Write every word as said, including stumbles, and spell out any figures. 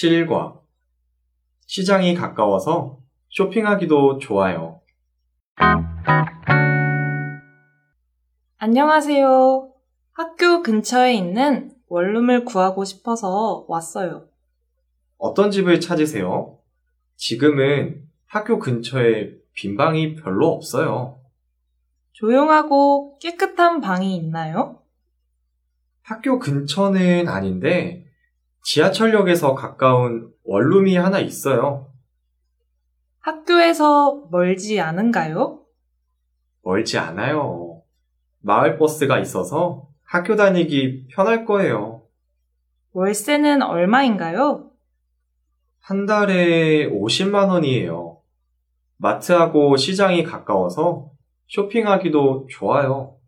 실과. 시장이 가까워서 쇼핑하기도 좋아요. 안녕하세요. 학교 근처에 있는 원룸을 구하고 싶어서 왔어요. 어떤 집을 찾으세요? 지금은 학교 근처에 빈 방이 별로 없어요. 조용하고 깨끗한 방이 있나요? 학교 근처는 아닌데 지하철역에서 가까운 원룸이 하나 있어요. 학교에서 멀지 않은가요? 멀지 않아요. 마을버스가 있어서 학교 다니기 편할 거예요. 월세는 얼마인가요? 한 달에 오십만 원이에요. 마트하고 시장이 가까워서 쇼핑하기도 좋아요.